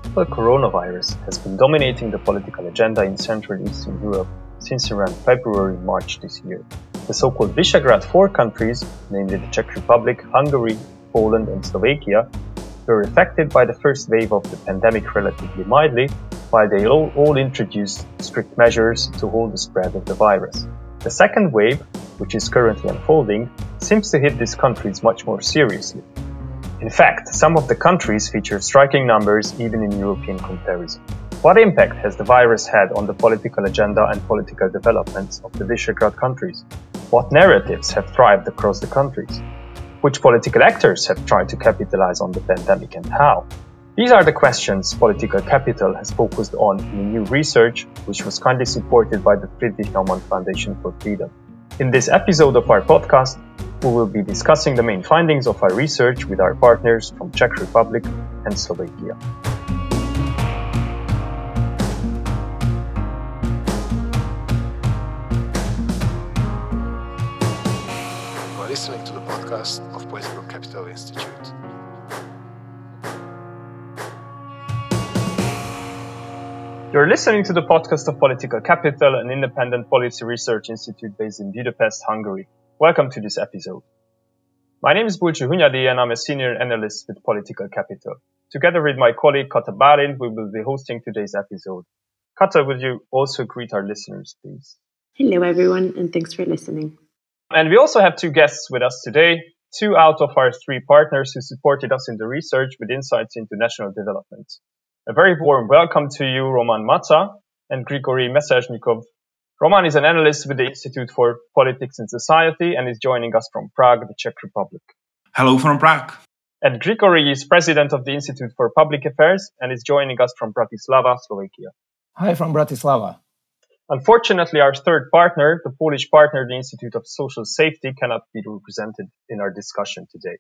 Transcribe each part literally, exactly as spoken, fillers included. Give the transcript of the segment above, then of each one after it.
The coronavirus has been dominating the political agenda in Central and Eastern Europe since around February March this year. The so-called Visegrad Four countries, namely the Czech Republic, Hungary, Poland and Slovakia, were affected by the first wave of the pandemic relatively mildly, while they all, all introduced strict measures to hold the spread of the virus. The second wave, which is currently unfolding, seems to hit these countries much more seriously. In fact, some of the countries feature striking numbers even in European comparison. What impact has the virus had on the political agenda and political developments of the Visegrad countries? What narratives have thrived across the countries? Which political actors have tried to capitalize on the pandemic and how? These are the questions Political Capital has focused on in a new research, which was kindly supported by the Friedrich Naumann Foundation for Freedom. In this episode of our podcast, we will be discussing the main findings of our research with our partners from Czech Republic and Slovakia. You are listening to the podcast of Political Capital Institute. You're listening to the podcast of Political Capital, an independent policy research institute based in Budapest, Hungary. Welcome to this episode. My name is Bulcsú Hunyadi and I'm a senior analyst with Political Capital. Together with my colleague Kata Bálint, we will be hosting today's episode. Kata, would you also greet our listeners, please? Hello, everyone, and thanks for listening. And we also have two guests with us today, two out of our three partners who supported us in the research with insights into national development. A very warm welcome to you, Roman Mata and Grigory Mesezhnikov. Roman is an analyst with the Institute for Politics and Society and is joining us from Prague, the Czech Republic. Hello from Prague. And Grigory is president of the Institute for Public Affairs and is joining us from Bratislava, Slovakia. Hi from Bratislava. Unfortunately, our third partner, the Polish partner, the Institute of Social Safety, cannot be represented in our discussion today.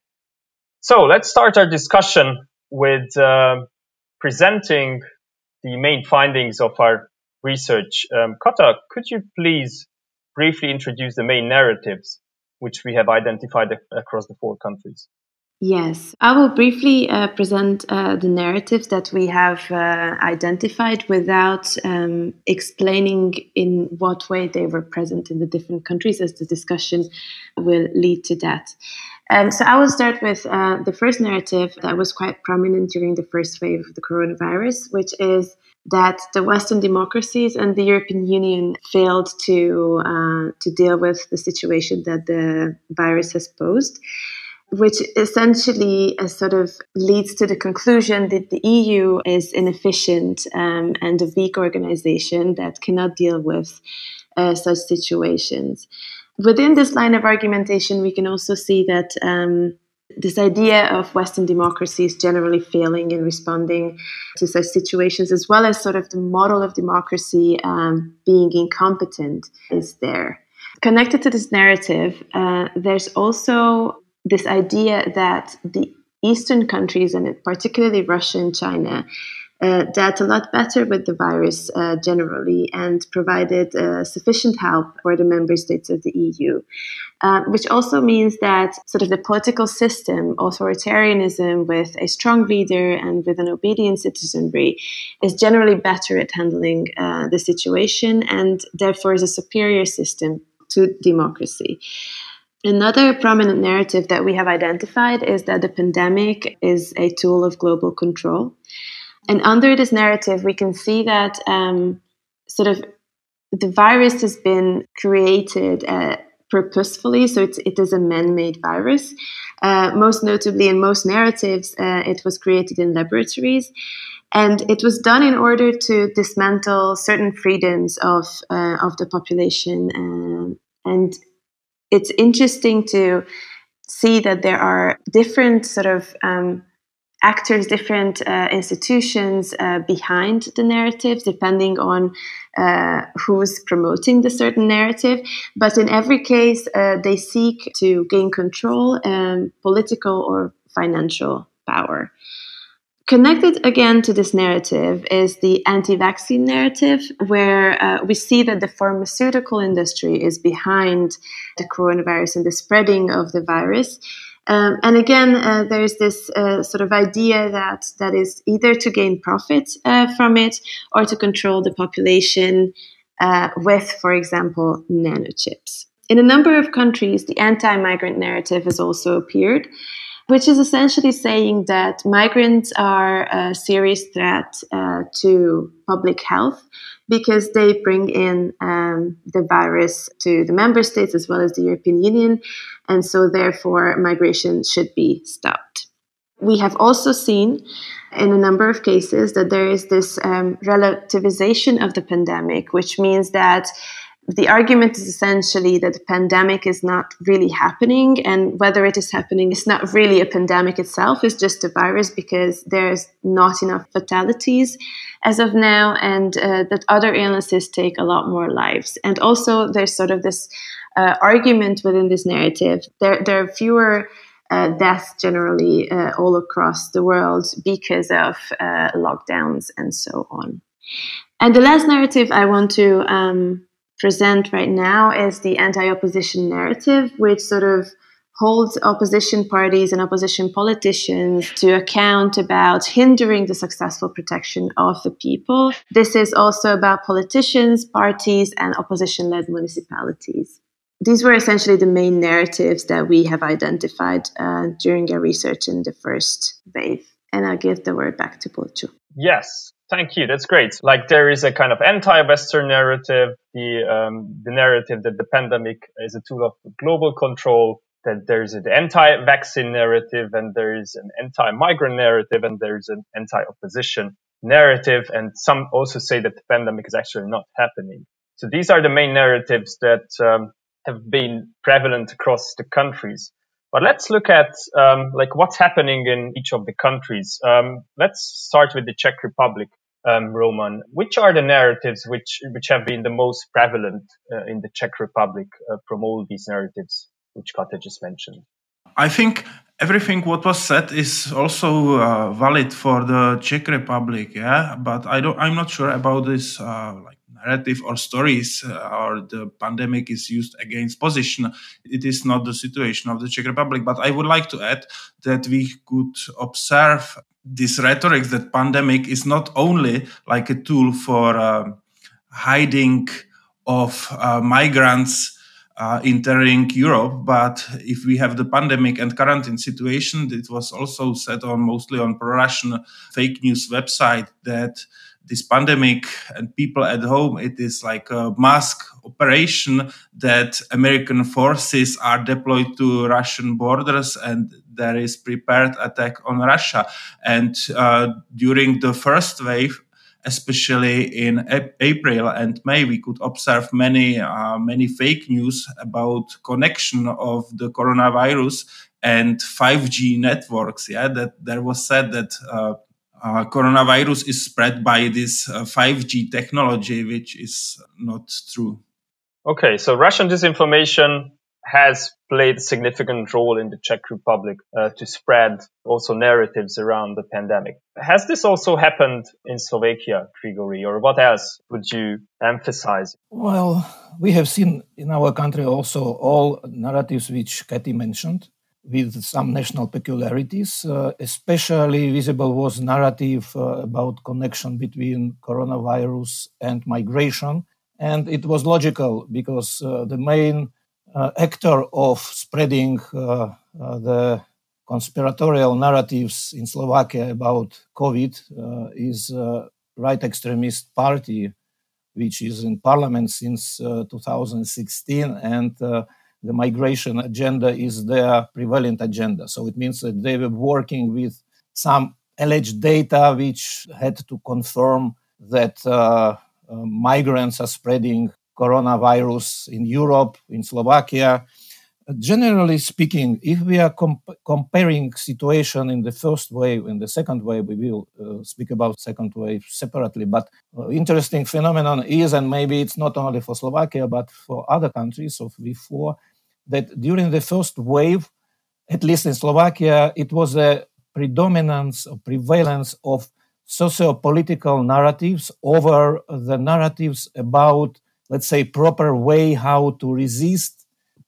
So let's start our discussion with uh, presenting the main findings of our research. Um, Kata, could you please briefly introduce the main narratives which we have identified ac- across the four countries? Yes, I will briefly uh, present uh, the narratives that we have uh, identified without um, explaining in what way they were present in the different countries, as the discussion will lead to that. Um, so I will start with uh, the first narrative that was quite prominent during the first wave of the coronavirus, which is that the Western democracies and the European Union failed to uh, to deal with the situation that the virus has posed, which essentially uh, sort of leads to the conclusion that the E U is inefficient um, and a weak organization that cannot deal with uh, such situations. Within this line of argumentation, we can also see that um, this idea of Western democracies generally failing in responding to such situations, as well as sort of the model of democracy um, being incompetent, is there. Connected to this narrative, uh, there's also this idea that the Eastern countries, and particularly Russia and China, uh, dealt a lot better with the virus uh, generally and provided uh, sufficient help for the member states of the E U, uh, which also means that sort of the political system, authoritarianism with a strong leader and with an obedient citizenry, is generally better at handling uh, the situation and therefore is a superior system to democracy. Another prominent narrative that we have identified is that the pandemic is a tool of global control. And under this narrative, we can see that um, sort of the virus has been created uh, purposefully, so it's, it is a man-made virus. Uh, most notably, in most narratives, uh, it was created in laboratories. And it was done in order to dismantle certain freedoms of, uh, of the population. Uh, and it's interesting to see that there are different sort of um, actors, different uh, institutions uh, behind the narrative, depending on uh, who's promoting the certain narrative. But in every case, uh, they seek to gain control and political or financial power. Connected again to this narrative is the anti-vaccine narrative, where uh, we see that the pharmaceutical industry is behind the coronavirus and the spreading of the virus. Um, and again, uh, there's this uh, sort of idea that that is either to gain profit uh, from it or to control the population uh, with, for example, nanochips. In a number of countries, the anti-migrant narrative has also appeared, which is essentially saying that migrants are a serious threat uh, to public health because they bring in um, the virus to the member states as well as the European Union, and so therefore migration should be stopped. We have also seen in a number of cases that there is this um, relativization of the pandemic, which means that the argument is essentially that the pandemic is not really happening, and whether it is happening, it's not really a pandemic itself, it's just a virus because there's not enough fatalities as of now, and uh, that other illnesses take a lot more lives. And also there's sort of this uh, argument within this narrative. There, there are fewer uh, deaths generally uh, all across the world because of uh, lockdowns and so on. And the last narrative I want to um, present right now is the anti-opposition narrative, which sort of holds opposition parties and opposition politicians to account about hindering the successful protection of the people. This is also about politicians, parties, and opposition-led municipalities. These were essentially the main narratives that we have identified uh, during our research in the first wave. And I'll give the word back to Bulcu. Yes. Thank you. That's great. Like there is a kind of anti-Western narrative, the um, the narrative that the pandemic is a tool of global control, that there's an anti-vaccine narrative, and there is an anti-migrant narrative, and there's an anti-opposition narrative. And some also say that the pandemic is actually not happening. So these are the main narratives that um, have been prevalent across the countries. But let's look at um, like what's happening in each of the countries. Um, let's start with the Czech Republic, um, Roman. Which are the narratives which which have been the most prevalent uh, in the Czech Republic uh, from all these narratives which Kata just mentioned? I think everything what was said is also uh, valid for the Czech Republic. Yeah, but I don't. I'm not sure about this uh, like. narrative or stories uh, or the pandemic is used against position. It is not the situation of the Czech Republic. But I would like to add that we could observe this rhetoric that pandemic is not only like a tool for uh, hiding of uh, migrants uh, entering Europe, but if we have the pandemic and quarantine situation, it was also said on mostly on pro-Russian fake news website that this pandemic and people at home, it is like a mask operation that American forces are deployed to Russian borders and there is prepared attack on Russia. And uh, during the first wave, especially in a- April and May, we could observe many, uh, many fake news about connection of the coronavirus and five G networks. Yeah, that there was said that uh, Uh, coronavirus is spread by this uh, five G technology, which is not true. Okay, so Russian disinformation has played a significant role in the Czech Republic uh, to spread also narratives around the pandemic. Has this also happened in Slovakia, Grigori, or what else would you emphasize? Well, we have seen in our country also all narratives which Kati mentioned, with some national peculiarities. Uh, especially visible was narrative uh, about connection between coronavirus and migration. And it was logical because uh, the main uh, actor of spreading uh, uh, the conspiratorial narratives in Slovakia about COVID uh, is a right extremist party, which is in parliament since uh, two thousand sixteen, and uh, the migration agenda is their prevalent agenda. So it means that they were working with some alleged data which had to confirm that uh, uh, migrants are spreading coronavirus in Europe, in Slovakia. Generally speaking, if we are comp- comparing situation in the first wave and the second wave, we will uh, speak about second wave separately. But uh, interesting phenomenon is, and maybe it's not only for Slovakia, but for other countries of before, that during the first wave, at least in Slovakia, it was a predominance or prevalence of socio-political narratives over the narratives about, let's say, proper way how to resist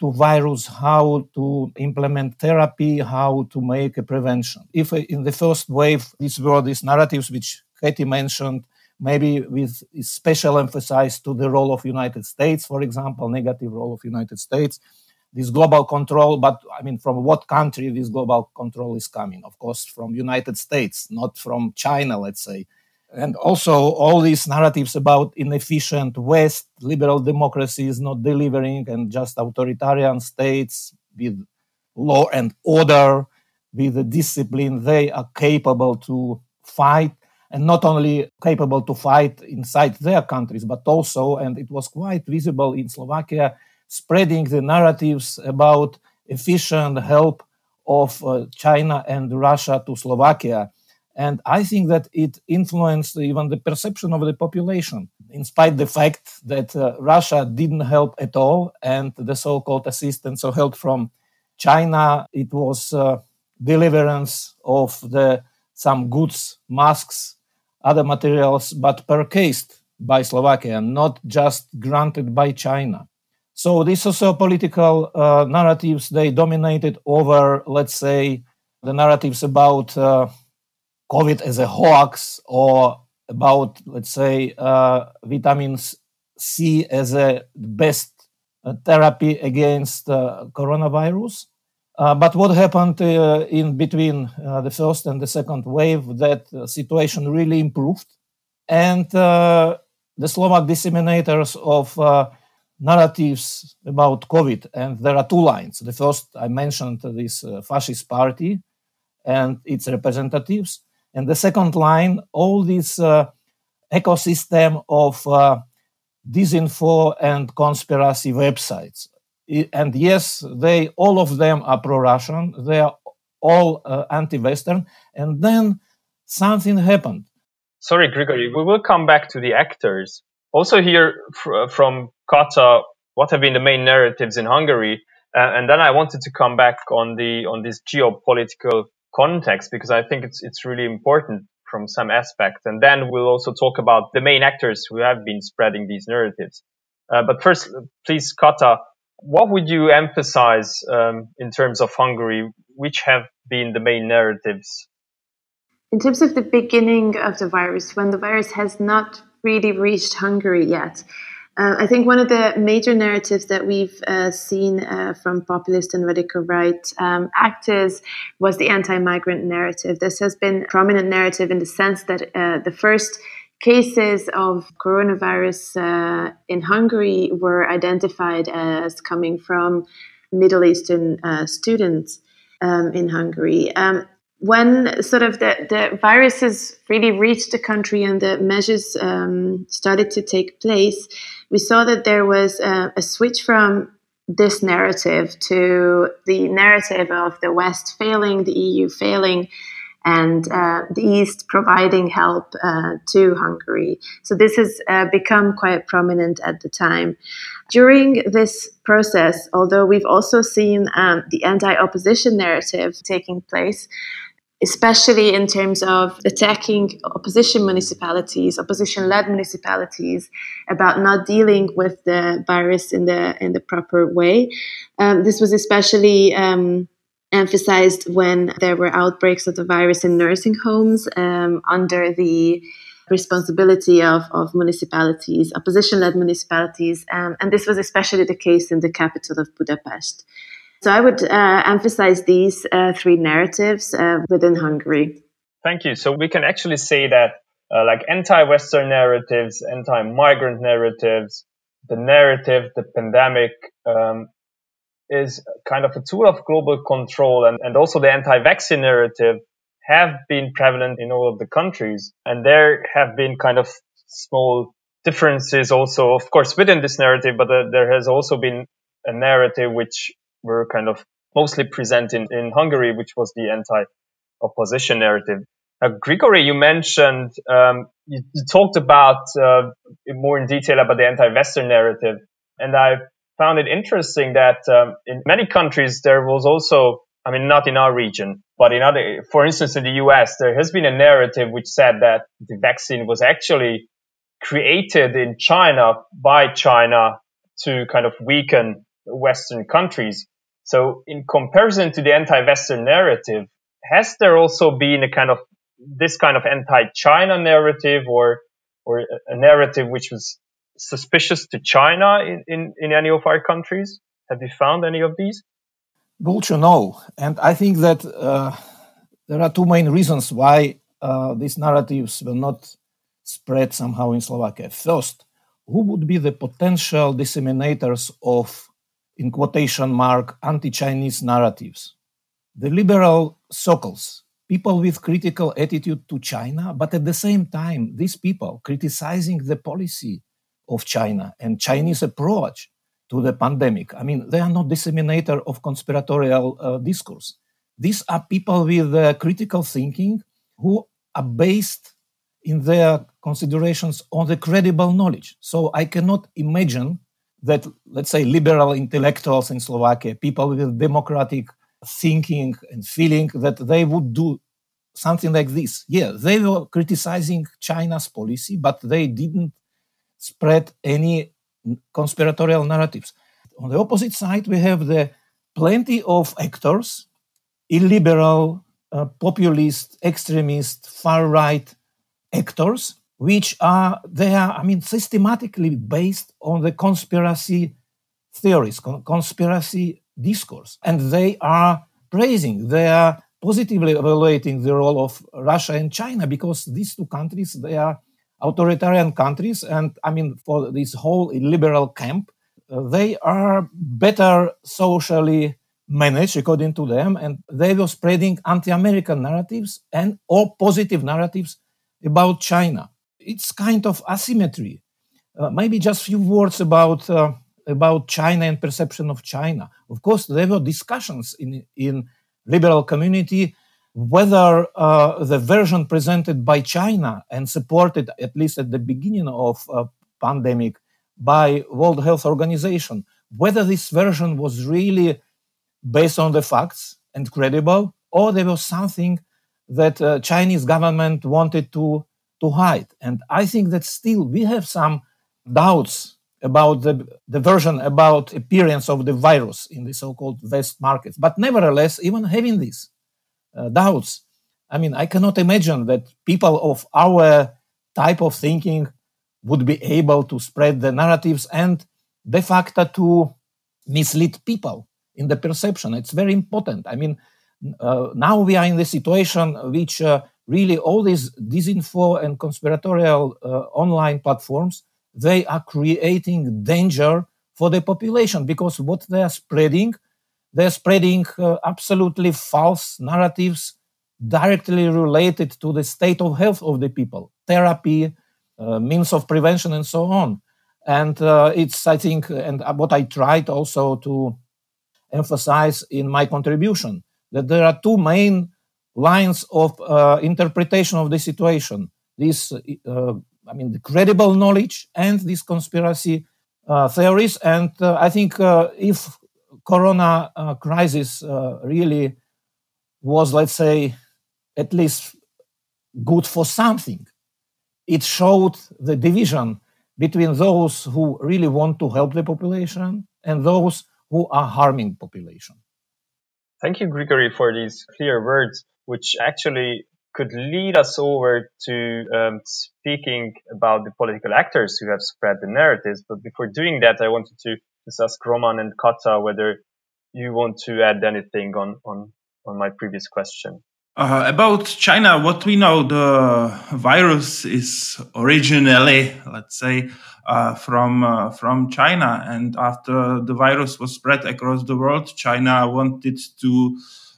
to virus, how to implement therapy, how to make a prevention. If in the first wave, these were these narratives which Katie mentioned, maybe with special emphasis to the role of United States, for example, negative role of United States, this global control, but I mean, from what country this global control is coming? Of course, from United States, not from China, let's say. And also all these narratives about inefficient West, liberal democracy is not delivering, and just authoritarian states with law and order, with the discipline, they are capable to fight, and not only capable to fight inside their countries, but also, and it was quite visible in Slovakia, spreading the narratives about efficient help of uh, China and Russia to Slovakia. And I think that it influenced even the perception of the population, in spite of the fact that uh, Russia didn't help at all, and the so-called assistance or help from China, it was uh, deliverance of the some goods, masks, other materials, but purchased by Slovakia, not just granted by China. So these socio-political uh, narratives, they dominated over, let's say, the narratives about uh, COVID as a hoax, or about, let's say, uh, vitamin C as a best uh, therapy against uh, coronavirus. Uh, but what happened uh, in between uh, the first and the second wave, that uh, situation really improved. And uh, the Slovak disseminators of uh, narratives about COVID, and there are two lines. The first, I mentioned this uh, fascist party and its representatives. And the second line, all this uh, ecosystem of uh, disinfo and conspiracy websites. And yes, they all of them are pro-Russian. They are all uh, anti-Western. And then something happened. Sorry, Grigory, we will come back to the actors. Also hear fr- from Kata what have been the main narratives in Hungary. Uh, and then I wanted to come back on the on this geopolitical context, because I think it's it's really important from some aspect. And then we'll also talk about the main actors who have been spreading these narratives. Uh, but first, please, Kata, what would you emphasize um, in terms of Hungary? Which have been the main narratives? In terms of the beginning of the virus, when the virus has not really reached Hungary yet, Uh, I think one of the major narratives that we've uh, seen uh, from populist and radical right um, actors was the anti-migrant narrative. This has been a prominent narrative in the sense that uh, the first cases of coronavirus uh, in Hungary were identified as coming from Middle Eastern uh, students um, in Hungary. Um, When sort of the, the viruses really reached the country and the measures um, started to take place, we saw that there was a, a switch from this narrative to the narrative of the West failing, the E U failing, and uh, the East providing help uh, to Hungary. So this has uh, become quite prominent at the time. During this process, although we've also seen um, the anti-opposition narrative taking place, especially in terms of attacking opposition municipalities, opposition-led municipalities, about not dealing with the virus in the in the proper way. Um, this was especially um, emphasized when there were outbreaks of the virus in nursing homes um, under the responsibility of, of municipalities, opposition-led municipalities, um, and this was especially the case in the capital of Budapest. So I would uh, emphasize these uh, three narratives uh, within Hungary. Thank you. So we can actually say that uh, like anti-Western narratives, anti-migrant narratives, the narrative, the pandemic um, is kind of a tool of global control, and, and also the anti-vaccine narrative have been prevalent in all of the countries. And there have been kind of small differences also, of course, within this narrative, but uh, there has also been a narrative which were kind of mostly present in, in Hungary, which was the anti-opposition narrative. Uh, Grigory, you mentioned, um, you, you talked about uh, more in detail about the anti-Western narrative. And I found it interesting that um, in many countries there was also, I mean, not in our region, but in other, for instance, in the U S, there has been a narrative which said that the vaccine was actually created in China by China to kind of weaken Western countries. So in comparison to the anti-Western narrative, has there also been a kind of this kind of anti-China narrative or or a narrative which was suspicious to China in, in, in any of our countries? Have you found any of these? Gulcho, no. And I think that uh, there are two main reasons why uh, these narratives will not spread somehow in Slovakia. First, who would be the potential disseminators of, in quotation mark, anti-Chinese narratives? The liberal circles, people with critical attitude to China, but at the same time, these people criticizing the policy of China and Chinese approach to the pandemic. I mean, they are not disseminator of conspiratorial uh, discourse. These are people with uh, critical thinking who are based in their considerations on the credible knowledge. So I cannot imagine that, let's say, liberal intellectuals in Slovakia, people with democratic thinking and feeling, that they would do something like this. Yeah, they were criticizing China's policy, but they didn't spread any conspiratorial narratives. On the opposite side, we have the plenty of actors, illiberal, uh, populist, extremist, far-right actors, which are, they are, I mean, systematically based on the conspiracy theories, con- conspiracy discourse. And they are praising, they are positively evaluating the role of Russia and China, because these two countries, they are authoritarian countries. And I mean, for this whole liberal camp, uh, they are better socially managed according to them. And they were spreading anti-American narratives and or positive narratives about China. It's kind of asymmetry. Uh, maybe just a few words about uh, about China and perception of China. Of course, there were discussions in in liberal community whether uh, the version presented by China and supported, at least at the beginning of uh, pandemic, by World Health Organization, whether this version was really based on the facts and credible, or there was something that uh, Chinese government wanted to, to hide. And I think that still we have some doubts about the, the version about appearance of the virus in the so-called West markets. But nevertheless, even having these uh, doubts, I mean, I cannot imagine that people of our type of thinking would be able to spread the narratives and de facto to mislead people in the perception. It's very important. I mean, uh, now we are in the situation which uh, really all these disinfo and conspiratorial uh, online platforms, they are creating danger for the population, because what they are spreading, they're spreading uh, absolutely false narratives directly related to the state of health of the people, therapy, uh, means of prevention, and so on. And uh, it's, I think, and what I tried also to emphasize in my contribution, that there are two main lines of uh, interpretation of the situation. This, uh, I mean, the credible knowledge and these conspiracy uh, theories. And uh, I think uh, if Corona uh, crisis uh, really was, let's say, at least good for something, it showed the division between those who really want to help the population and those who are harming population. Thank you, Grigory, for these clear words, which actually could lead us over to um, speaking about the political actors who have spread the narratives. But before doing that, I wanted to just ask Roman and Kata whether you want to add anything on, on, on my previous question. Uh, about China, what we know, the virus is originally, let's say, uh, from uh, from China. And after the virus was spread across the world, China wanted to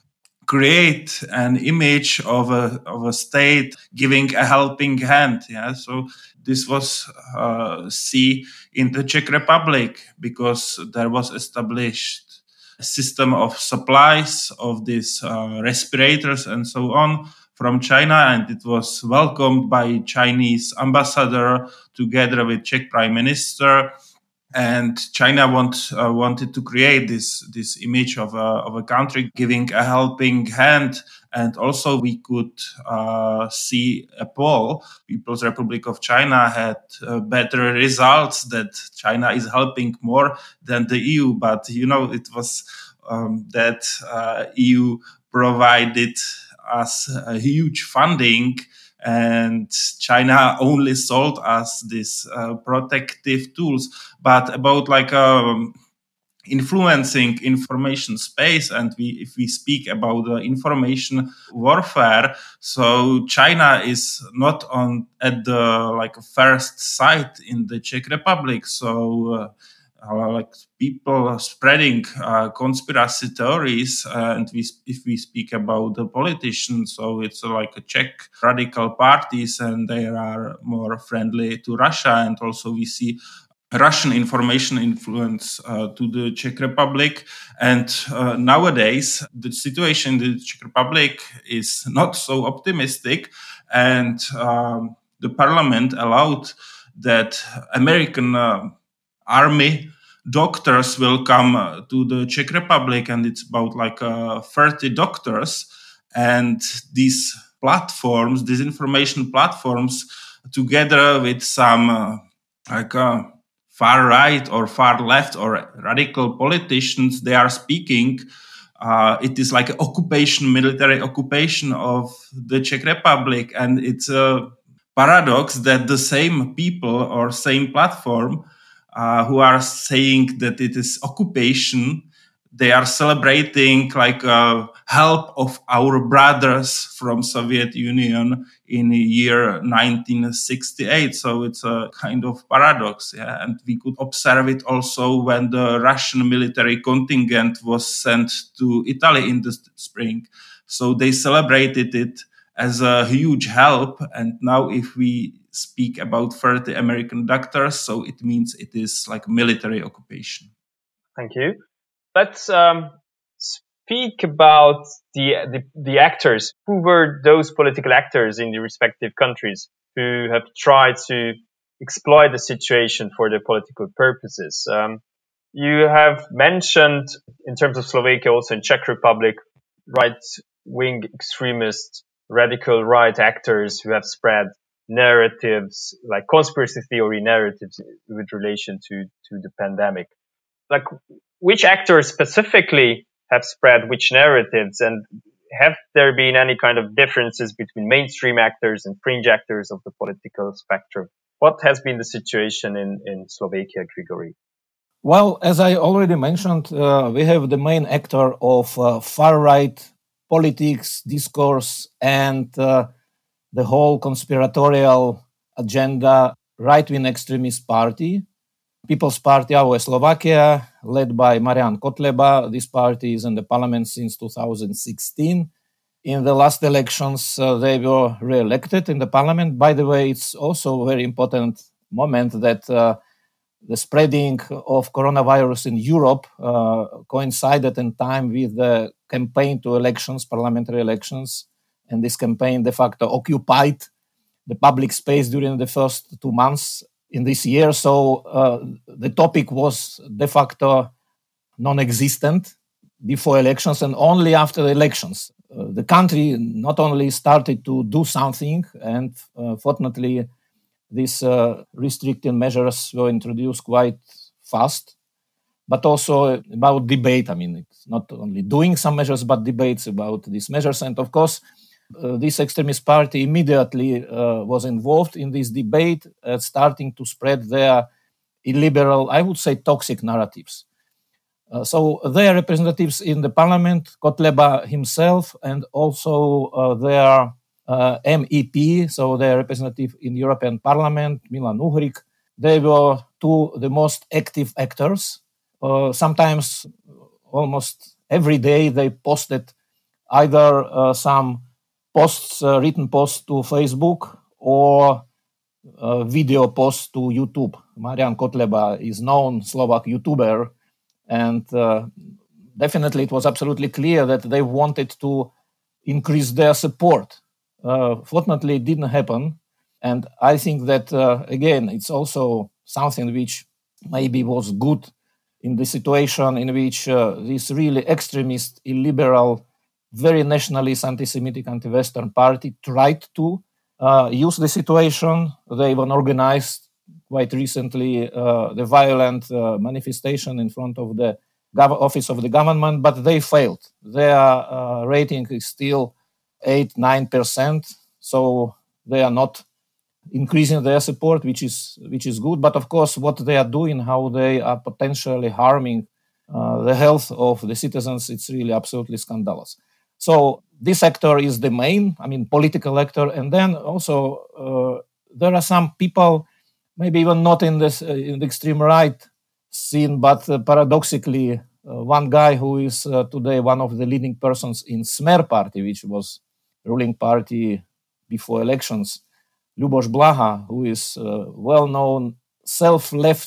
create an image of a of a state giving a helping hand. Yeah, so this was uh, see in the Czech Republic, because there was established a system of supplies of these uh, respirators and so on from China, and it was welcomed by Chinese ambassador together with Czech Prime Minister. And China want, uh, wanted to create this this image of a of a country giving a helping hand. And also we could uh, see a poll. People's Republic of China had uh, better results, that China is helping more than the E U. But, you know, it was um, that uh, E U provided us a huge funding, and China only sold us these uh, protective tools. But about like um, influencing information space, and we if we speak about the information warfare, so China is not on at the like first site in the Czech Republic. So uh, uh, like people are spreading uh, conspiracy theories, uh, and we, if we speak about the politicians, so it's uh, like a Czech radical parties, and they are more friendly to Russia, and also we see Russian information influence uh, to the Czech Republic. And uh, nowadays, the situation in the Czech Republic is not so optimistic. And um, the parliament allowed that American uh, army doctors will come uh, to the Czech Republic. And it's about like uh, thirty doctors. And these platforms, these information platforms, together with some uh, like... Uh, far right or far left or radical politicians, they are speaking. Uh, it is like an occupation, military occupation of the Czech Republic. And it's a paradox that the same people or same platform uh, who are saying that it is occupation, they are celebrating like a help of our brothers from Soviet Union in the year nineteen sixty-eight. So it's a kind of paradox. Yeah? And we could observe it also when the Russian military contingent was sent to Italy in the spring. So they celebrated it as a huge help. And now if we speak about thirty American doctors, so it means it is like military occupation. Thank you. Let's um, speak about the, the the actors. Who were those political actors in the respective countries who have tried to exploit the situation for their political purposes? Um, you have mentioned, in terms of Slovakia, also in Czech Republic, right-wing extremist, radical right actors who have spread narratives, like conspiracy theory narratives with relation to, to the pandemic. Like, which actors specifically have spread which narratives, and have there been any kind of differences between mainstream actors and fringe actors of the political spectrum? What has been the situation in, in Slovakia, Grigory? Well, as I already mentioned, uh, we have the main actor of uh, far-right politics, discourse, and uh, the whole conspiratorial agenda, right-wing extremist party, People's Party A O E Slovakia, led by Marian Kotleba. This party is in the parliament since two thousand sixteen. In the last elections, uh, they were re-elected in the parliament. By the way, it's also a very important moment that uh, the spreading of coronavirus in Europe uh, coincided in time with the campaign to elections, parliamentary elections. And this campaign de facto occupied the public space during the first two months in this year. So uh, the topic was de facto non-existent before elections, and only after the elections. Uh, the country not only started to do something, and uh, fortunately these uh, restrictive measures were introduced quite fast, but also about debate. I mean, it's not only doing some measures, but debates about these measures. And of course, uh, this extremist party immediately uh, was involved in this debate, uh, starting to spread their illiberal, I would say, toxic narratives. Uh, so their representatives in the parliament, Kotleba himself, and also uh, their uh, M E P, so their representative in the European Parliament, Milan Uhrik, they were two the most active actors. Uh, sometimes, almost every day, they posted either uh, some posts, uh, written posts to Facebook, or uh, video posts to YouTube. Marian Kotleba is known Slovak YouTuber, and uh, definitely it was absolutely clear that they wanted to increase their support. Uh, fortunately, it didn't happen. And I think that, uh, again, it's also something which maybe was good in the situation in which uh, these really extremist, illiberal, very nationalist, anti-Semitic, anti-Western party tried to uh, use the situation. They even organized quite recently uh, the violent uh, manifestation in front of the gov- office of the government, but they failed. Their uh, rating is still eight, nine percent, so they are not increasing their support, which is which is good. But of course, what they are doing, how they are potentially harming uh, the health of the citizens, it's really absolutely scandalous. So this actor is the main, I mean, political actor, and then also uh, there are some people, maybe even not in this uh, in the extreme right scene, but uh, paradoxically, uh, one guy who is uh, today one of the leading persons in Smer party, which was ruling party before elections, Lubos Blaha, who is a well-known self-left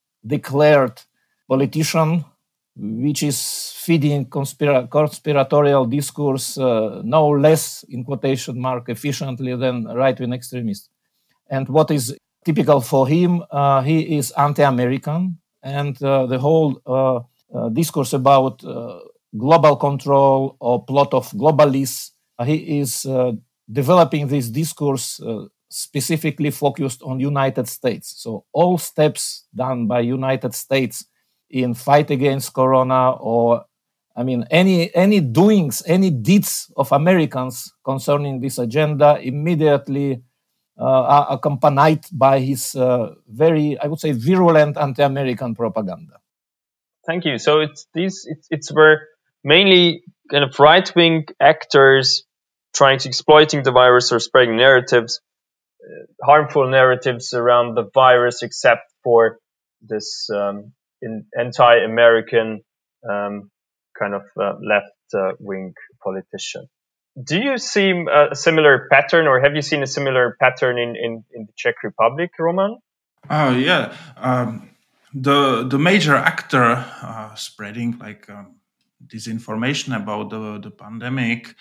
declared politician, which is feeding conspira- conspiratorial discourse uh, no less, in quotation mark, efficiently than right-wing extremists. And what is typical for him, uh, he is anti-American, and uh, the whole uh, uh, discourse about uh, global control or plot of globalists, uh, he is uh, developing this discourse uh, specifically focused on United States. So all steps done by United States in fight against Corona, or I mean, any any doings, any deeds of Americans concerning this agenda immediately uh, are accompanied by his uh, very, I would say, virulent anti-American propaganda. Thank you. So it's these it's it's where mainly kind of right wing actors trying to exploiting the virus or spreading narratives, uh, harmful narratives around the virus, except for this um, in, anti-American um, kind of uh, left uh, wing politician. Do you see a similar pattern, or have you seen a similar pattern in, in, in the Czech Republic, Roman? Oh yeah, um, the the major actor uh, spreading like um, disinformation about the the pandemic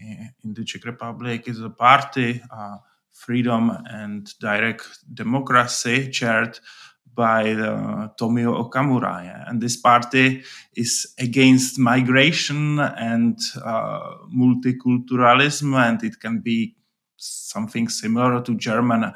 in the Czech Republic is a party, uh, Freedom and Direct Democracy, chaired by uh, Tomio Okamura, yeah? And this party is against migration and uh, multiculturalism, and it can be something similar to German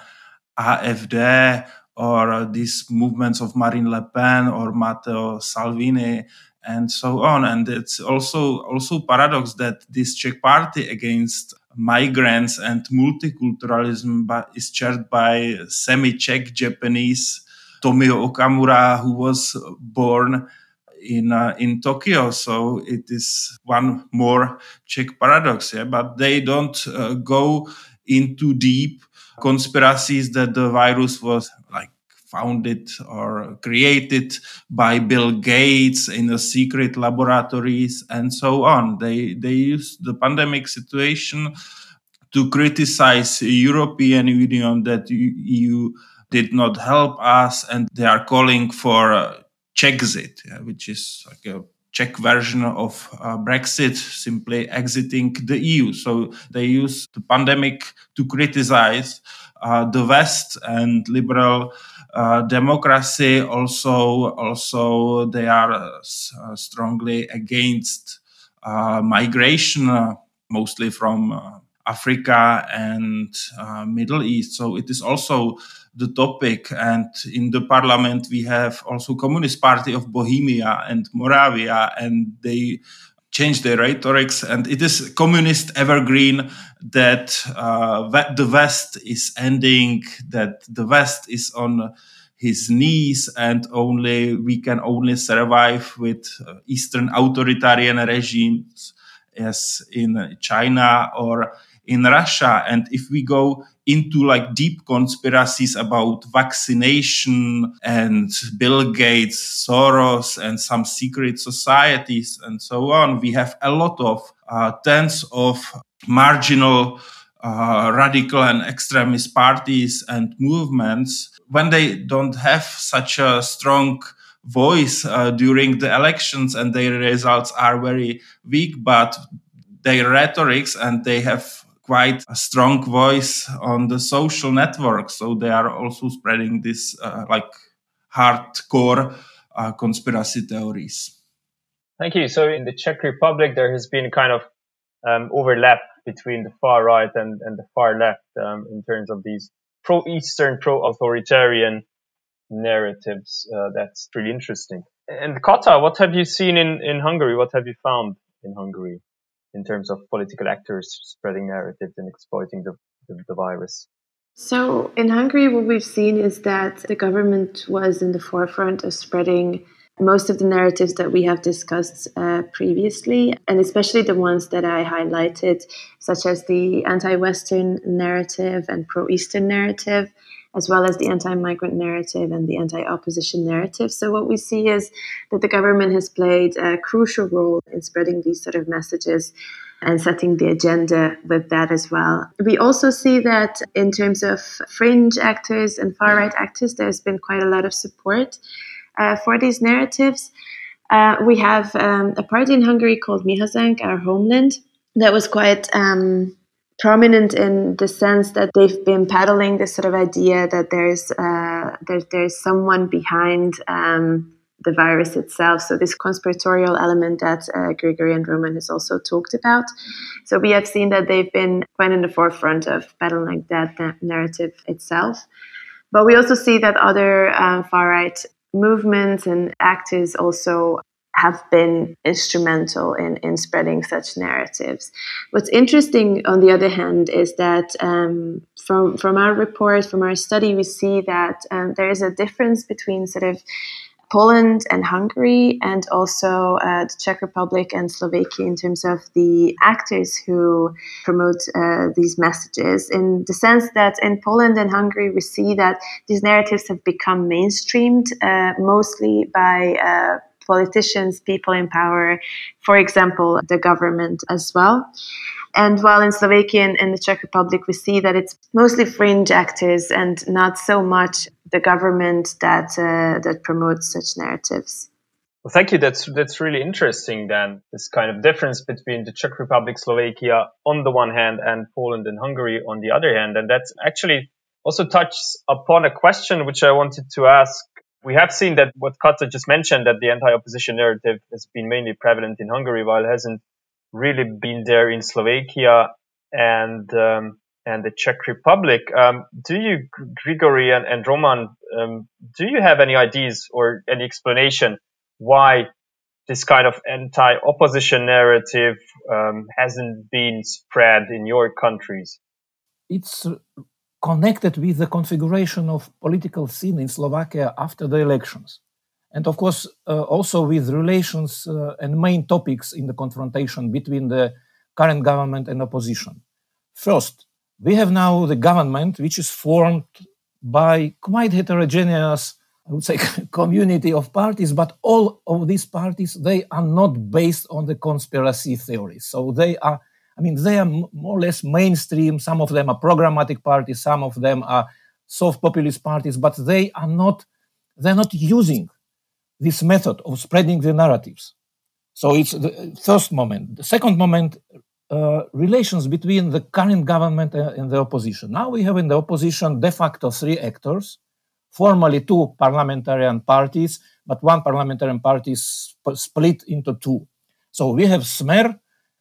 AfD or uh, these movements of Marine Le Pen or Matteo Salvini and so on. And it's also also paradox that this Czech party against migrants and multiculturalism is chaired by semi-Czech Japanese Tomio Okamura, who was born in uh, in Tokyo. So it is one more Czech paradox, yeah. But they don't uh, go into deep conspiracies that the virus was like founded or created by Bill Gates in a secret laboratories and so on. They they use the pandemic situation to criticize the European Union that E U did not help us, and they are calling for uh, Czechzit, yeah, which is like a Czech version of uh, Brexit, simply exiting the E U. So they use the pandemic to criticize uh, the West and liberal uh, democracy. Also, also they are uh, strongly against uh, migration, uh, mostly from uh, Africa and uh, Middle East. So it is also the topic. And in the parliament, we have also Communist Party of Bohemia and Moravia, and they change their rhetorics. And it is communist evergreen that uh, the West is ending, that the West is on his knees, and only we can only survive with uh, Eastern authoritarian regimes as in China or in Russia. And if we go into like deep conspiracies about vaccination and Bill Gates, Soros, and some secret societies and so on, we have a lot of uh, tens of marginal uh, radical and extremist parties and movements. When they don't have such a strong voice uh, during the elections and their results are very weak, but their rhetorics, and they have quite a strong voice on the social networks. So they are also spreading this uh, like hardcore uh, conspiracy theories. Thank you. So in the Czech Republic, there has been kind of um, overlap between the far right and, and the far left um, in terms of these pro-Eastern, pro-authoritarian narratives. Uh, that's really interesting. And Kata, what have you seen in, in Hungary? What have you found in Hungary in terms of political actors spreading narratives and exploiting the, the, the virus? So in Hungary, what we've seen is that the government was in the forefront of spreading most of the narratives that we have discussed uh, previously, and especially the ones that I highlighted, such as the anti-Western narrative and pro-Eastern narrative, as well as the anti-migrant narrative and the anti-opposition narrative. So what we see is that the government has played a crucial role in spreading these sort of messages and setting the agenda with that as well. We also see that in terms of fringe actors and far-right actors, there's been quite a lot of support uh, for these narratives. Uh, we have um, a party in Hungary called Mi Hazánk, Our Homeland, that was quite um, prominent in the sense that they've been peddling this sort of idea that there's uh, that there's someone behind um, the virus itself. So this conspiratorial element that uh, Grigory and Roman has also talked about. So we have seen that they've been quite in the forefront of peddling that na- narrative itself. But we also see that other uh, far-right movements and actors also have been instrumental in, in spreading such narratives. What's interesting, on the other hand, is that um, from, from our report, from our study, we see that um, there is a difference between sort of Poland and Hungary, and also uh, the Czech Republic and Slovakia in terms of the actors who promote uh, these messages, in the sense that in Poland and Hungary we see that these narratives have become mainstreamed uh, mostly by uh, politicians, people in power, for example, the government as well. And while in Slovakia and, and the Czech Republic, we see that it's mostly fringe actors and not so much the government that uh, that promotes such narratives. Well, thank you. That's that's really interesting. Then this kind of difference between the Czech Republic, Slovakia on the one hand, and Poland and Hungary on the other hand, and that's actually also touches upon a question which I wanted to ask. We have seen that what Kata just mentioned, that the anti-opposition narrative has been mainly prevalent in Hungary, while it hasn't really been there in Slovakia and um, and the Czech Republic. Um, do you, Grigory and, and Roman, um, do you have any ideas or any explanation why this kind of anti-opposition narrative um, hasn't been spread in your countries? It's connected with the configuration of political scene in Slovakia after the elections. And of course, uh, also with relations uh, and main topics in the confrontation between the current government and opposition. First, we have now the government, which is formed by quite heterogeneous, I would say, community of parties, but all of these parties, they are not based on the conspiracy theories. So they are, I mean, they are more or less mainstream. Some of them are programmatic parties, some of them are soft populist parties, but they are not, they're not using this method of spreading the narratives. So it's the first moment. The second moment, uh, relations between the current government and the opposition. Now we have in the opposition de facto three actors, formally two parliamentarian parties, but one parliamentarian party is sp- split into two. So we have Smer,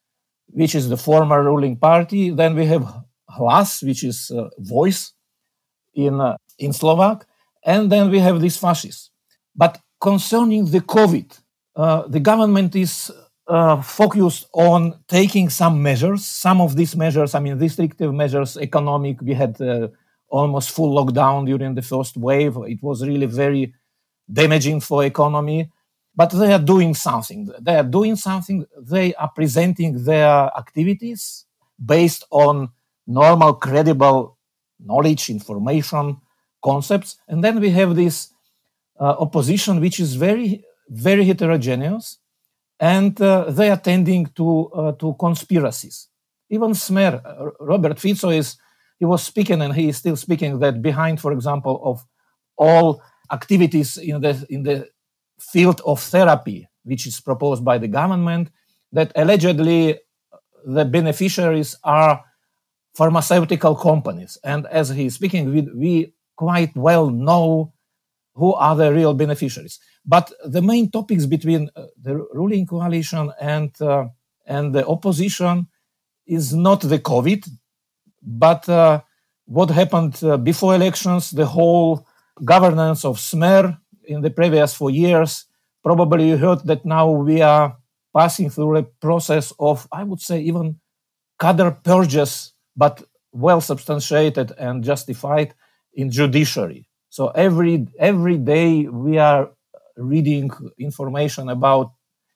which is the former ruling party. Then we have Hlas, which is uh, voice in, uh, in Slovak. And then we have these fascists. But concerning the COVID, uh, the government is uh, focused on taking some measures. Some of these measures, I mean, restrictive measures, economic, we had uh, almost full lockdown during the first wave. It was really very damaging for economy. But they are doing something. They are doing something. They are presenting their activities based on normal, credible knowledge, information, concepts. And then we have this uh, opposition, which is very, very heterogeneous. And uh, they are tending to, uh, to conspiracies. Even Smer, uh, Robert Fico, is, he was speaking, and he is still speaking, that behind, for example, of all activities in the in the field of therapy, which is proposed by the government, that allegedly the beneficiaries are pharmaceutical companies. And as he is speaking, we, we quite well know who are the real beneficiaries. But the main topics between uh, the ruling coalition and uh, and the opposition is not the COVID, but uh, what happened uh, before elections, the whole governance of Smer in the previous four years. Probably you heard that now we are passing through a process of, I would say, even cadre purges, but well substantiated and justified in judiciary. So every every day we are reading information about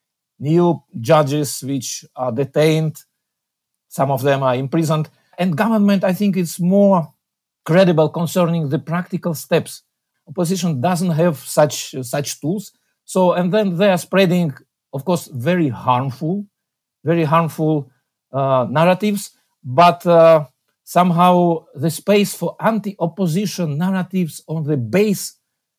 new judges which are detained. Some of them are imprisoned. And government, I think, is more credible concerning the practical steps. Opposition doesn't have such such tools. So, and then they are spreading, of course, very harmful, very harmful uh, narratives. But uh, somehow the space for anti-opposition narratives on the base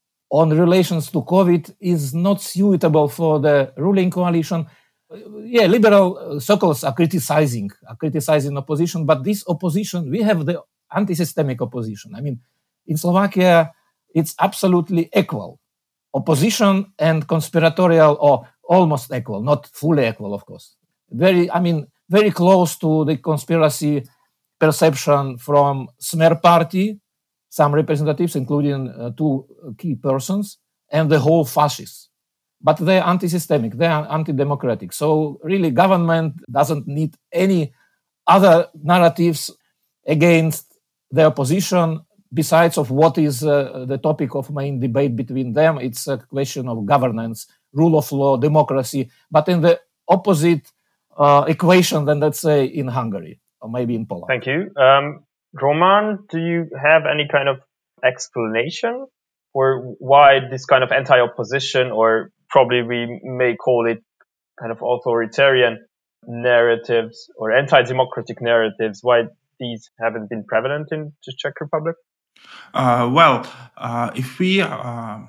on relations to COVID is not suitable for the ruling coalition. Yeah, liberal circles are criticizing, are criticizing opposition, but this opposition, we have the anti-systemic opposition. I mean, in Slovakia, it's absolutely equal. Opposition and conspiratorial, or almost equal, not fully equal, of course. Very, I mean, very close to the conspiracy perception from Smer party, some representatives, including uh, two key persons, and the whole fascists. But they're anti-systemic, they are anti-democratic. So really, government doesn't need any other narratives against the opposition besides of what is uh, the topic of main debate between them. It's a question of governance, rule of law, democracy, but in the opposite uh, equation than, let's say, in Hungary or maybe in Poland. Thank you. Um, Roman, do you have any kind of explanation for why this kind of anti-opposition, or probably we may call it kind of authoritarian narratives or anti-democratic narratives, why these haven't been prevalent in the Czech Republic? Uh, well, uh, if we uh,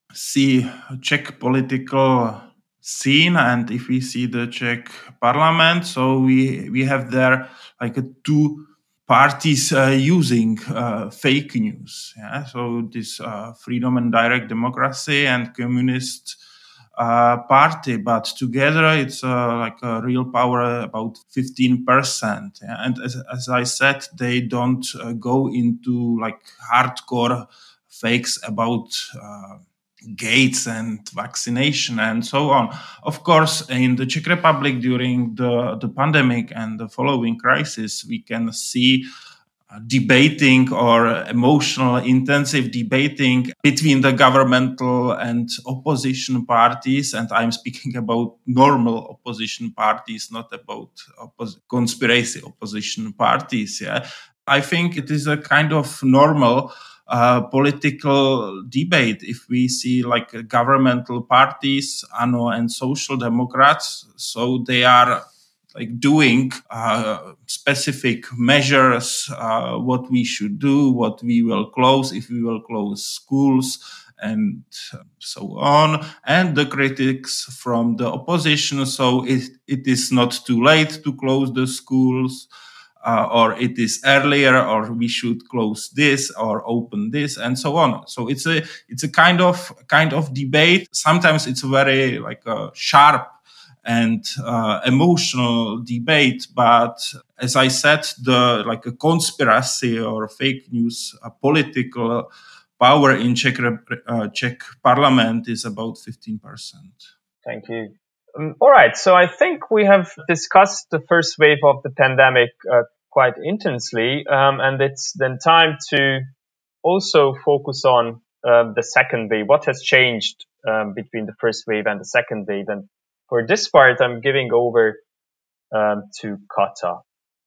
see Czech political scene and if we see the Czech parliament, so we we have there like a two parties uh, using uh, fake news. Yeah? So this uh, Freedom and Direct Democracy and Communist uh, Party, but together it's uh, like a real power about fifteen percent. Yeah? And as, as I said, they don't uh, go into like hardcore fakes about uh, gates and vaccination and so on. Of course, in the Czech Republic during the, the pandemic and the following crisis, we can see uh, debating or emotional, intensive debating between the governmental and opposition parties. And I'm speaking about normal opposition parties, not about oppos- conspiracy opposition parties. Yeah, I think it is a kind of normal Uh, political debate. If we see like uh, governmental parties, A N O and Social Democrats, so they are like doing uh, specific measures, uh, what we should do, what we will close, if we will close schools, and so on. And the critics from the opposition, so it, it is not too late to close the schools. Uh, or it is earlier, or we should close this or open this, and so on. So it's a it's a kind of kind of debate. Sometimes it's a very like a sharp and uh, emotional debate. But as I said, the like a conspiracy or fake news, a political power in Czech uh, Czech Parliament is about fifteen percent. Thank you. Um, all right. So I think we have discussed the first wave of the pandemic uh, quite intensely, um, and it's then time to also focus on um, the second wave. What has changed um, between the first wave and the second wave? And for this part, I'm giving over um, to Kata.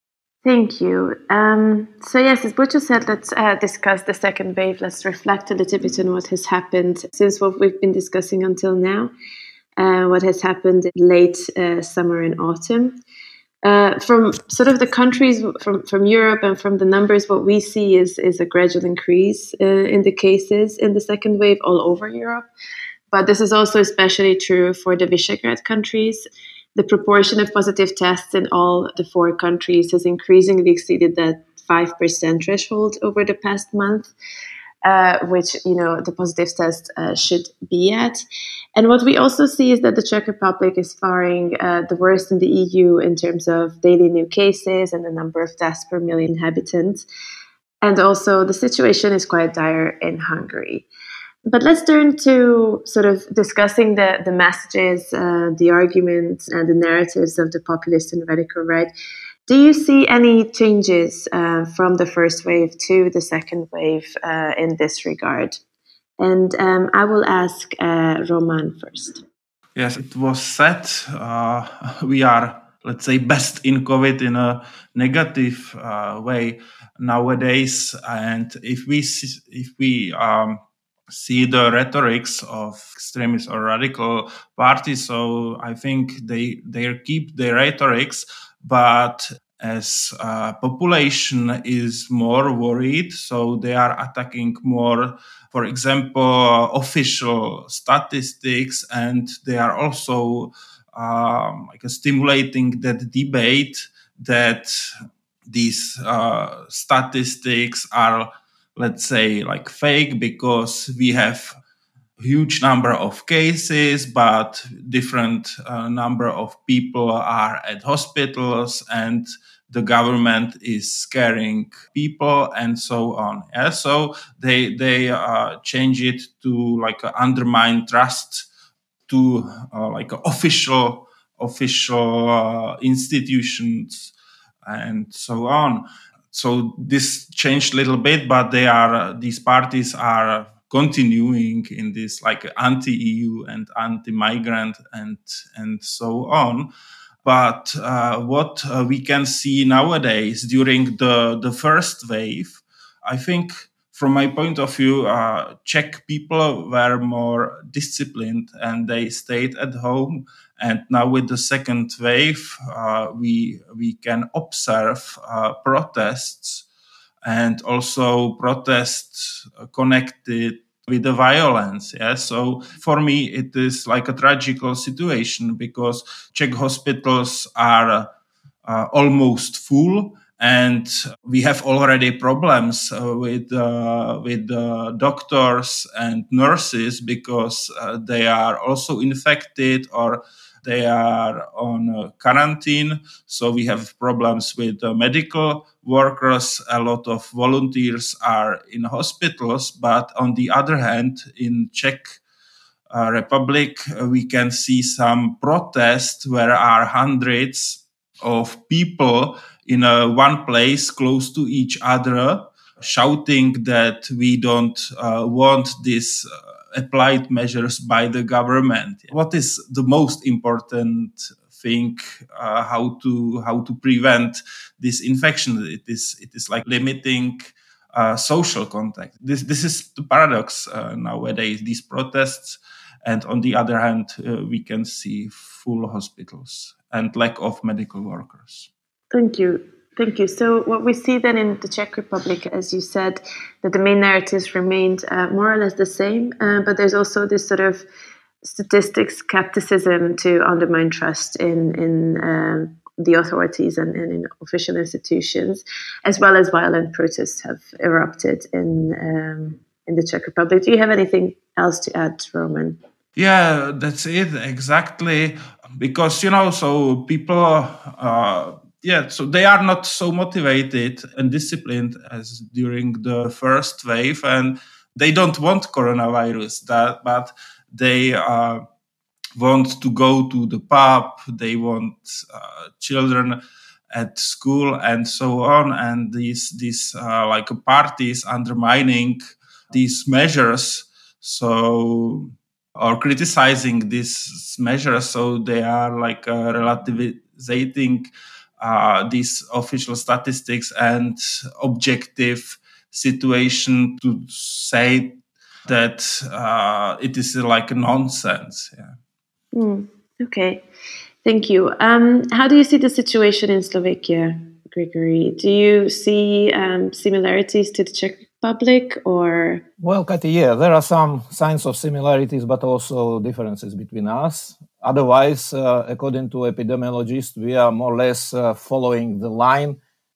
Thank you. Um, so yes, as Butcho said, let's uh, discuss the second wave. Let's reflect a little bit on what has happened since what we've been discussing until now. Uh, what has happened in late uh, summer and autumn. Uh, from sort of the countries from, from Europe and from the numbers, what we see is, is a gradual increase uh, in the cases in the second wave all over Europe. But this is also especially true for the Visegrad countries. The proportion of positive tests in all the four countries has increasingly exceeded that five percent threshold over the past month. uh, which, you know, the positive test uh, should be at. And what we also see is that the Czech Republic is faring uh, the worst in the E U in terms of daily new cases and the number of deaths per million inhabitants. And also the situation is quite dire in Hungary. But let's turn to sort of discussing the, the messages, uh, the arguments, and the narratives of the populist and radical right. Do you see any changes uh, from the first wave to the second wave uh, in this regard? And um, I will ask uh, Roman first. Yes, it was said uh, we are, let's say, best in COVID in a negative uh, way nowadays. And if we see, if we um, see the rhetorics of extremist or radical parties, so I think they they keep their rhetorics, but as uh, population is more worried, so they are attacking more, for example, official statistics, and they are also um, like stimulating that debate that these uh, statistics are, let's say, like fake because we have huge number of cases, but different uh, number of people are at hospitals and the government is scaring people and so on. Yeah, so they they uh, change it to like uh, undermine trust to uh, like uh, official official uh, institutions and so on. So this changed a little bit, but they are these parties are continuing in this like anti-E U and anti-migrant and and so on. But uh, what uh, we can see nowadays during the, the first wave, I think from my point of view, uh, Czech people were more disciplined and they stayed at home. And now with the second wave, uh, we we can observe uh, protests and also protests connected with the violence. Yeah. So for me, it is like a tragical situation because Czech hospitals are uh, almost full. And we have already problems uh, with uh, with uh, doctors and nurses because uh, they are also infected or they are on uh, quarantine. So we have problems with uh, medical workers. A lot of volunteers are in hospitals. But on the other hand, in Czech uh, Republic, uh, we can see some protests where are hundreds of people in a one place close to each other, shouting that we don't uh, want this uh, applied measures by the government. What is the most important thing? Uh, how to how to prevent this infection? It is it is like limiting uh, social contact. This this is the paradox uh, nowadays. These protests, and on the other hand, uh, we can see full hospitals and lack of medical workers. Thank you. Thank you. So what we see then in the Czech Republic, as you said, that the main narratives remained uh, more or less the same, uh, but there's also this sort of statistics skepticism to undermine trust in, in uh, the authorities and, and in official institutions, as well as violent protests have erupted in, um, in the Czech Republic. Do you have anything else to add, Roman? Yeah, that's it, exactly. Because, you know, so people... Uh, Yeah, so they are not so motivated and disciplined as during the first wave, and they don't want coronavirus, that, but they uh, want to go to the pub, they want uh, children at school and so on, and these these uh, like parties undermining these measures, so or criticizing these measures, so they are like uh, relativizing Uh, these official statistics and objective situation to say that uh, it is like nonsense. Yeah. Mm, okay, thank you. Um, how do you see the situation in Slovakia, Grigory? Do you see um, similarities to the Czech Republic, or? Well, Kati, yeah, there are some signs of similarities, but also differences between us. Otherwise, uh, according to epidemiologists, we are more or less uh, following the line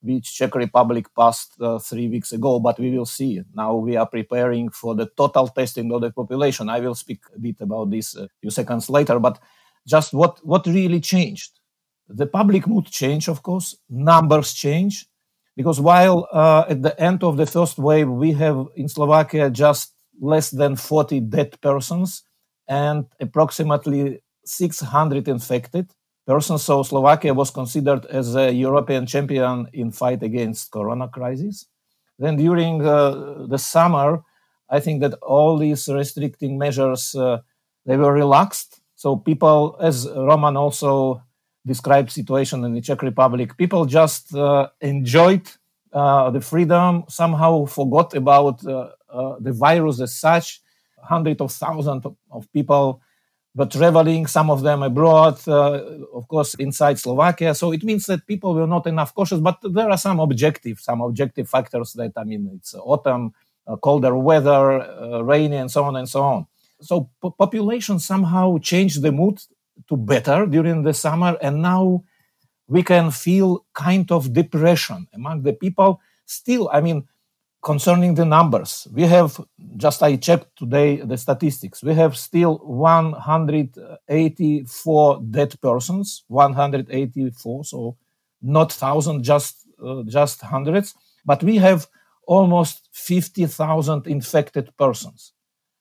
which Czech Republic passed uh, three weeks ago, but we will see. Now we are preparing for the total testing of the population. I will speak a bit about this a few seconds later, but just what, what really changed? The public mood changed, of course, numbers change, because while uh, at the end of the first wave, we have in Slovakia just less than forty dead persons and approximately six hundred infected persons. So Slovakia was considered as a European champion in fight against corona crisis. Then during uh, the summer, I think that all these restricting measures, uh, they were relaxed. So people, as Roman also described situation in the Czech Republic, people just uh, enjoyed uh, the freedom, somehow forgot about uh, uh, the virus as such. Hundreds of thousands of people were traveling, some of them abroad, uh, of course, inside Slovakia. So it means that people were not enough cautious, but there are some objective, some objective factors that, I mean, it's autumn, uh, colder weather, uh, rainy, and so on and so on. So po- population somehow changed the mood to better during the summer, and now we can feel kind of depression among the people. Still, I mean, concerning the numbers, we have, just I checked today the statistics, we have still one hundred eighty-four dead persons, one hundred eighty-four, so not thousand, just uh, just hundreds, but we have almost fifty thousand infected persons.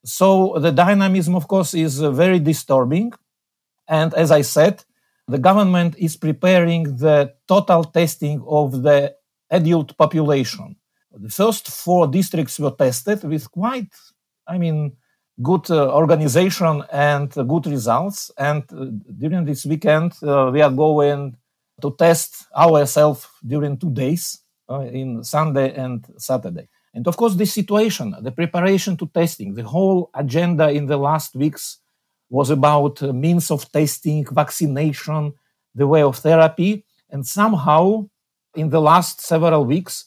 So the dynamism, of course, is uh, very disturbing. And as I said, the government is preparing the total testing of the adult population. The first four districts were tested with quite, I mean, good uh, organization and uh, good results. And uh, during this weekend, uh, we are going to test ourselves during two days, uh, in Sunday and Saturday. And of course, this situation, the preparation to testing, the whole agenda in the last weeks was about uh, means of testing, vaccination, the way of therapy. And somehow, in the last several weeks,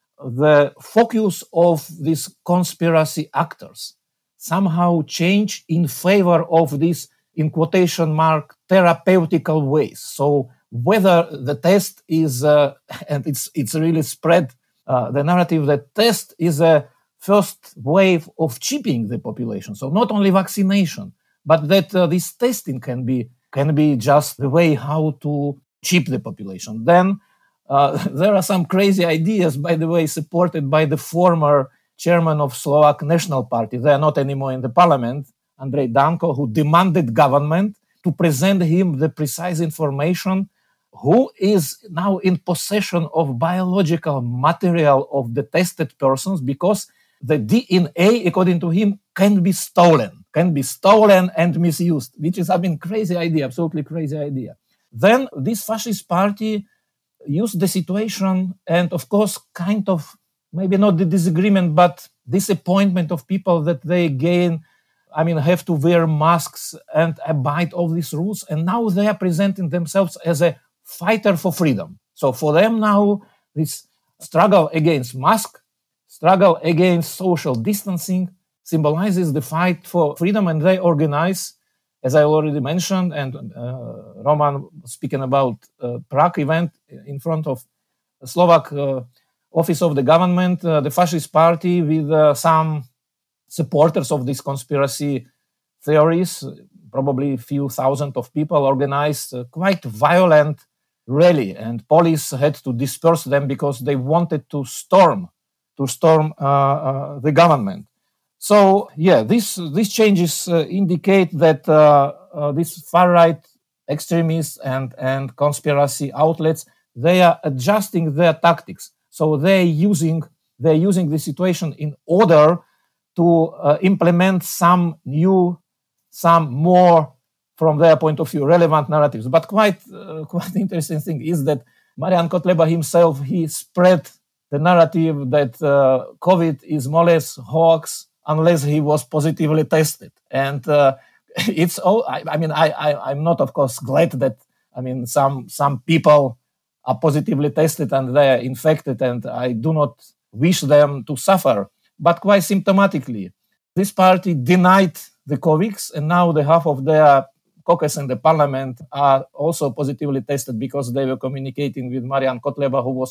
the focus of these conspiracy actors somehow changed in favor of this, in quotation mark, therapeutical ways. So whether the test is, uh, and it's it's really spread uh, the narrative that test is a first wave of cheapening the population. So not only vaccination, but that uh, this testing can be can be just the way how to cheap the population. Then uh, there are some crazy ideas, by the way, supported by the former chairman of Slovak National Party. They are not anymore in the parliament, Andrej Danko, who demanded government to present him the precise information who is now in possession of biological material of the tested persons, because the D N A, according to him, can be stolen, can be stolen and misused, which is, I mean, crazy idea, absolutely crazy idea. Then this fascist party used the situation and, of course, kind of, maybe not the disagreement, but disappointment of people that they gain, I mean, have to wear masks and abide all these rules. And now they are presenting themselves as a fighter for freedom. So for them now, this struggle against mask, struggle against social distancing symbolizes the fight for freedom, and they organize, as I already mentioned, and uh, Roman speaking about uh, Prague event in front of the Slovak uh, office of the government, uh, the fascist party with uh, some supporters of these conspiracy theories, probably a few thousand of people, organized uh, quite violent rally, and police had to disperse them because they wanted to storm to storm uh, uh, the government. So, yeah, this, these changes uh, indicate that uh, uh, these far-right extremists and, and conspiracy outlets, they are adjusting their tactics. So they're using, they're using the situation in order to uh, implement some new, some more, from their point of view, relevant narratives. But quite, uh, quite interesting thing is that Marian Kotleba himself, he spread the narrative that uh, COVID is more or less hoax unless he was positively tested. And uh, it's all, I, I mean, I, I, I'm not, of course, glad that, I mean, some, some people are positively tested and they're infected, and I do not wish them to suffer. But quite symptomatically, this party denied the COVID, and now the half of their caucus in the parliament are also positively tested because they were communicating with Marian Kotleba, who was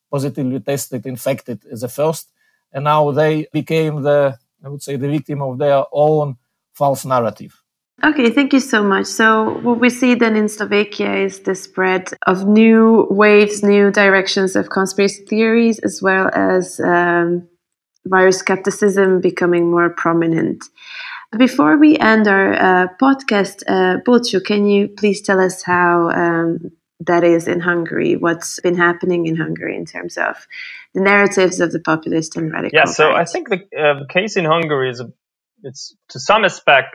positively tested, infected as a first. And now they became the, I would say, the victim of their own false narrative. Okay, thank you so much. So what we see then in Slovakia is the spread of new waves, new directions of conspiracy theories, as well as um, virus skepticism becoming more prominent. Before we end our uh, podcast, uh, Bulcu, can you please tell us how um, that is in Hungary? What's been happening in Hungary in terms of the narratives of the populist and radical Yeah, so right? I think the uh, case in Hungary is a, it's to some aspect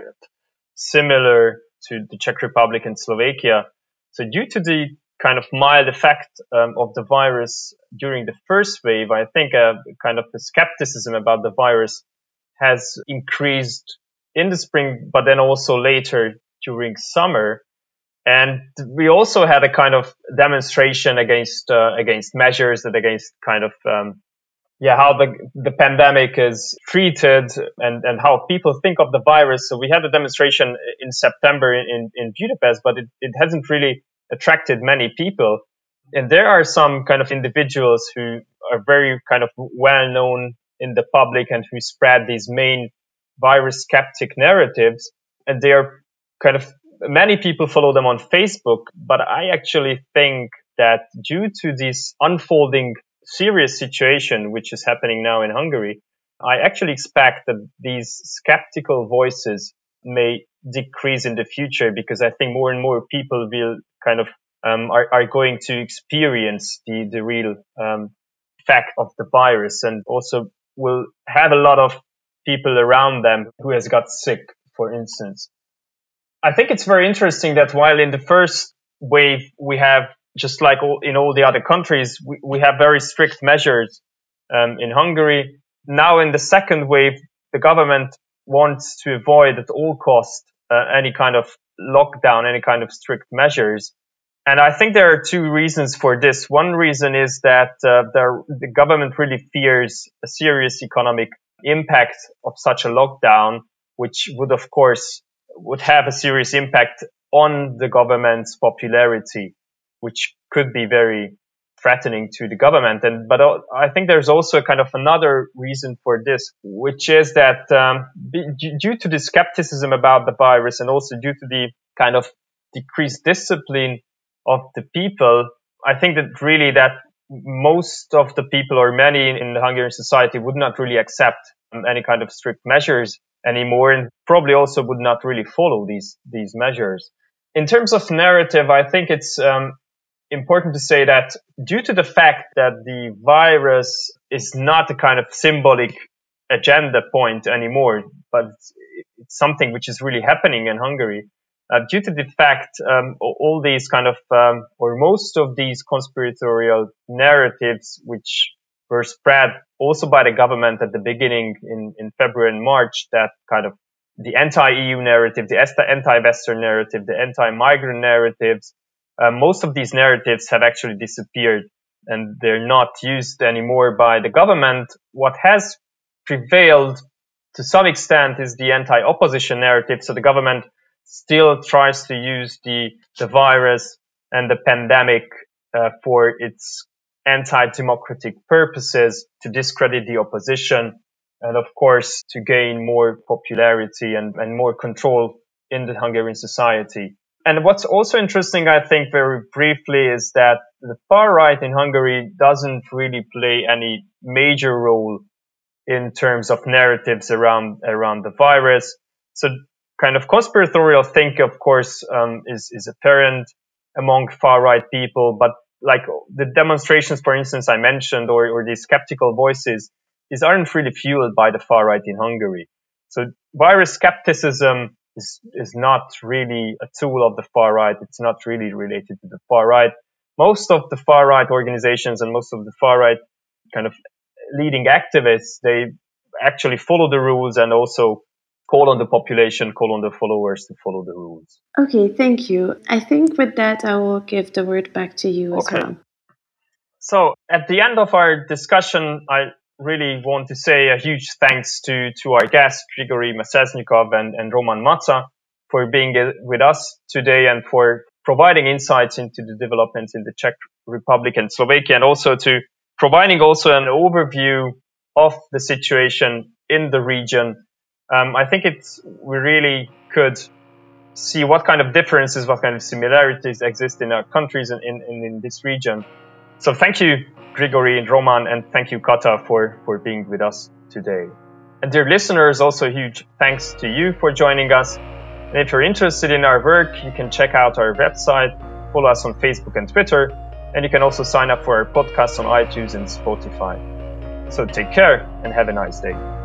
similar to the Czech Republic and Slovakia. So due to the kind of mild effect um, of the virus during the first wave, I think a kind of the skepticism about the virus has increased in the spring, but then also later during summer. And we also had a kind of demonstration against uh, against measures and against kind of um, yeah how the the pandemic is treated and and how people think of the virus. So we had a demonstration in September in in Budapest, but it, it hasn't really attracted many people. And there are some kind of individuals who are very kind of well known in the public and who spread these main virus skeptic narratives, and they are kind of many people follow them on Facebook. But I actually think that due to this unfolding serious situation which is happening now in Hungary, I actually expect that these skeptical voices may decrease in the future, because I think more and more people will kind of um, are, are going to experience the, the real um, effect of the virus, and also will have a lot of people around them who has got sick, for instance. I think it's very interesting that while in the first wave we have, just like all, in all the other countries, we, we have very strict measures um, in Hungary. Now in the second wave, the government wants to avoid at all costs uh, any kind of lockdown, any kind of strict measures. And I think there are two reasons for this. One reason is that uh, the, the government really fears a serious economic impact of such a lockdown, which would, of course, would have a serious impact on the government's popularity, which could be very threatening to the government. And but I think there's also kind of another reason for this, which is that um, due to the skepticism about the virus, and also due to the kind of decreased discipline of the people, I think that really that most of the people, or many in the Hungarian society, would not really accept um, any kind of strict measures anymore, and probably also would not really follow these these measures. In terms of narrative, I think it's um, important to say that due to the fact that the virus is not a kind of symbolic agenda point anymore, but it's, it's something which is really happening in Hungary, uh, due to the fact um, all these kind of, um, or most of these conspiratorial narratives which were spread also by the government at the beginning in, in February and March, that kind of the anti-E U narrative, the anti-Western narrative, the anti-migrant narratives, uh, most of these narratives have actually disappeared and they're not used anymore by the government. What has prevailed to some extent is the anti-opposition narrative. So the government still tries to use the, the virus and the pandemic uh, for its anti-democratic purposes, to discredit the opposition, and of course to gain more popularity and, and more control in the Hungarian society. And what's also interesting, I think, very briefly, is that the far right in Hungary doesn't really play any major role in terms of narratives around around the virus. So kind of conspiratorial thinking, of course, um, is, is apparent among far right people, but like the demonstrations, for instance, I mentioned, or, or these skeptical voices, these aren't really fueled by the far right in Hungary. So virus skepticism is, is not really a tool of the far right. It's not really related to the far right. Most of the far right organizations and most of the far right kind of leading activists, they actually follow the rules and also call on the population, call on the followers to follow the rules. Okay, thank you. I think with that, I will give the word back to you as okay. well. So at the end of our discussion, I really want to say a huge thanks to, to our guests, Grigory Maseznikov and, and Roman Maca, for being with us today and for providing insights into the developments in the Czech Republic and Slovakia, and also to providing also an overview of the situation in the region. Um, I think it's we really could see what kind of differences, what kind of similarities exist in our countries and in, in, in this region. So thank you, Grigory and Roman, and thank you, Kata, for, for being with us today. And dear listeners, also huge thanks to you for joining us. And if you're interested in our work, you can check out our website, follow us on Facebook and Twitter, and you can also sign up for our podcast on iTunes and Spotify. So take care and have a nice day.